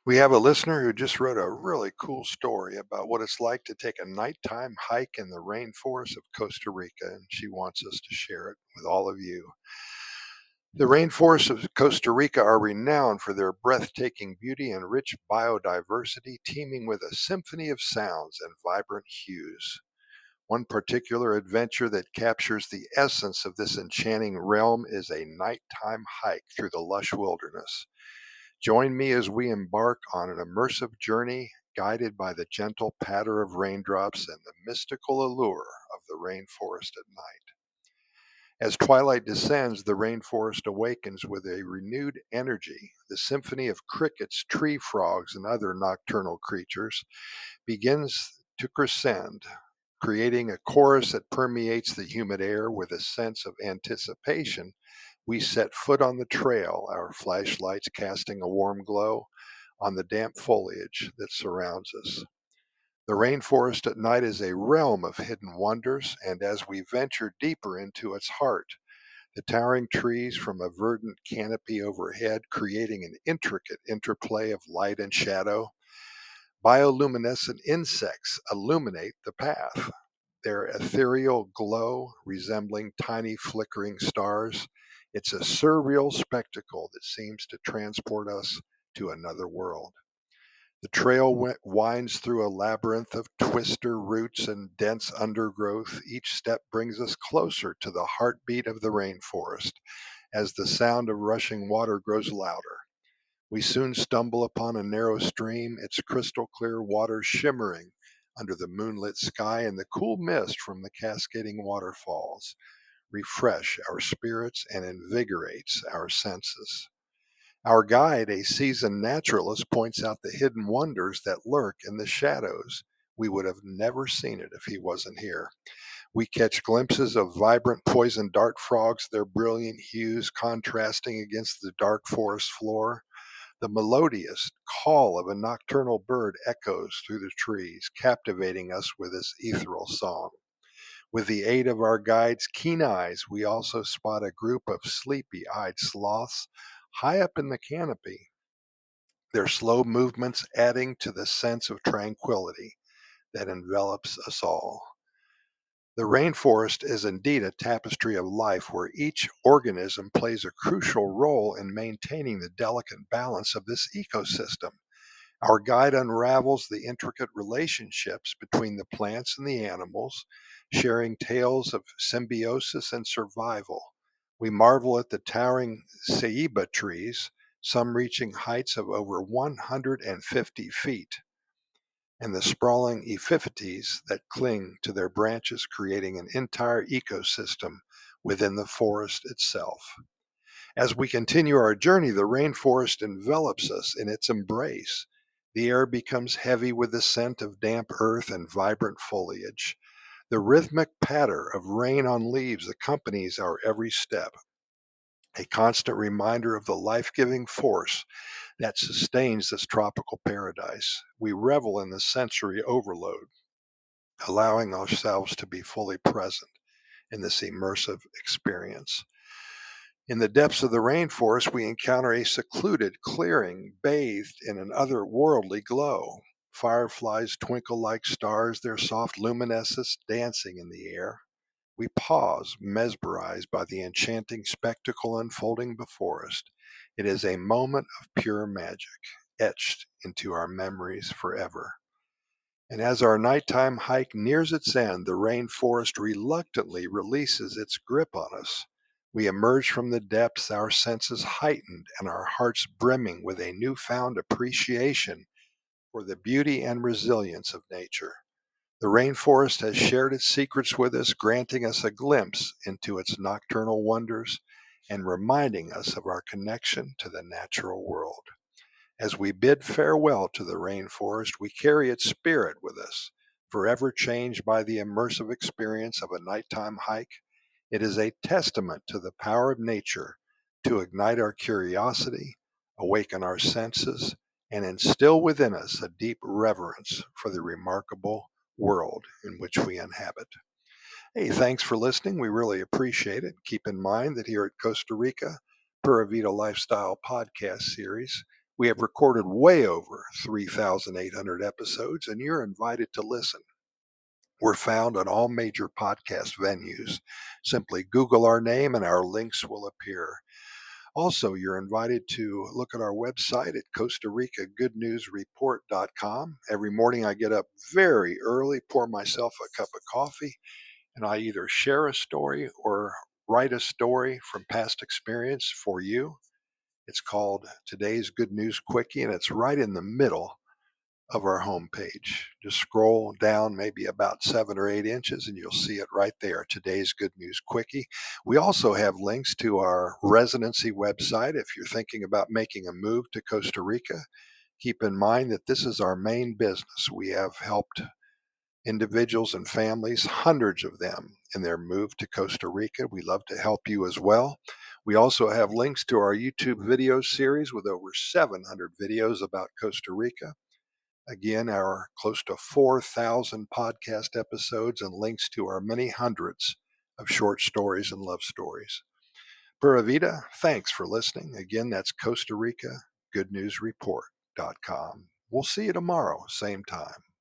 We have a listener who just wrote a really cool story about what it's like to take a nighttime hike in the rainforest of Costa Rica, and she wants us to share it with all of you. The rainforests of Costa Rica are renowned for their breathtaking beauty and rich biodiversity, teeming with a symphony of sounds and vibrant hues. One particular adventure that captures the essence of this enchanting realm is a nighttime hike through the lush wilderness. Join me as we embark on an immersive journey guided by the gentle patter of raindrops and the mystical allure of the rainforest at night. As twilight descends, the rainforest awakens with a renewed energy. The symphony of crickets, tree frogs, and other nocturnal creatures begins to crescend, creating a chorus that permeates the humid air with a sense of anticipation. We set foot on the trail, our flashlights casting a warm glow on the damp foliage that surrounds us. The rainforest at night is a realm of hidden wonders, and as we venture deeper into its heart, the towering trees from a verdant canopy overhead creating an intricate interplay of light and shadow. Bioluminescent insects illuminate the path, their ethereal glow resembling tiny flickering stars. It's a surreal spectacle that seems to transport us to another world. The trail winds through a labyrinth of twister roots and dense undergrowth. Each step brings us closer to the heartbeat of the rainforest as the sound of rushing water grows louder. We soon stumble upon a narrow stream, its crystal clear water shimmering under the moonlit sky, and the cool mist from the cascading waterfalls refresh our spirits and invigorates our senses. Our guide, a seasoned naturalist, points out the hidden wonders that lurk in the shadows. We would have never seen it if he wasn't here. We catch glimpses of vibrant poison dart frogs, their brilliant hues contrasting against the dark forest floor. The melodious call of a nocturnal bird echoes through the trees, captivating us with its ethereal song. With the aid of our guide's keen eyes, we also spot a group of sleepy eyed sloths high up in the canopy, their slow movements adding to the sense of tranquility that envelops us all. The rainforest is indeed a tapestry of life where each organism plays a crucial role in maintaining the delicate balance of this ecosystem. Our guide unravels the intricate relationships between the plants and the animals, sharing tales of symbiosis and survival. We marvel at the towering ceiba trees, some reaching heights of over 150 feet, and the sprawling epiphytes that cling to their branches, creating an entire ecosystem within the forest itself. As we continue our journey, the rainforest envelops us in its embrace. The air becomes heavy with the scent of damp earth and vibrant foliage. The rhythmic patter of rain on leaves accompanies our every step, a constant reminder of the life giving force that sustains this tropical paradise. We revel in the sensory overload, allowing ourselves to be fully present in this immersive experience. In the depths of the rainforest, we encounter a secluded clearing bathed in an otherworldly glow. Fireflies twinkle like stars, their soft luminescence dancing in the air. We pause, mesmerized by the enchanting spectacle unfolding before us. It is a moment of pure magic, etched into our memories forever. And as our nighttime hike nears its end, the rainforest reluctantly releases its grip on us. We emerge from the depths, our senses heightened and our hearts brimming with a newfound appreciation for the beauty and resilience of nature. The rainforest has shared its secrets with us, granting us a glimpse into its nocturnal wonders and reminding us of our connection to the natural world. As we bid farewell to the rainforest, we carry its spirit with us, forever changed by the immersive experience of a nighttime hike. It is a testament to the power of nature to ignite our curiosity, awaken our senses, and instill within us a deep reverence for the remarkable world in which we inhabit. Hey, thanks for listening. We really appreciate it. Keep in mind that here at Costa Rica, Pura Vida Lifestyle podcast series, We have recorded way over 3,800 episodes, and you're invited to listen. We're found on all major podcast venues. Simply Google our name and our links will appear. Also, you're invited to look at our website at Costa Rica Good News Report.com. Every morning I get up very early, pour myself a cup of coffee, and I either share a story or write a story from past experience for you. It's called Today's Good News Quickie, and it's right in the middle of our homepage. Just scroll down maybe about 7 or 8 inches and you'll see it right there. Today's Good News Quickie. We also have links to our residency website. If you're thinking about making a move to Costa Rica, keep in mind that this is our main business. We have helped individuals and families, hundreds of them, in their move to Costa Rica. We love to help you as well. We also have links to our YouTube video series with over 700 videos about Costa Rica. Again, our close to 4,000 podcast episodes and links to our many hundreds of short stories and love stories. Pura Vida, thanks for listening. Again, that's Costa Rica Good News Report.com. We'll see you tomorrow, same time.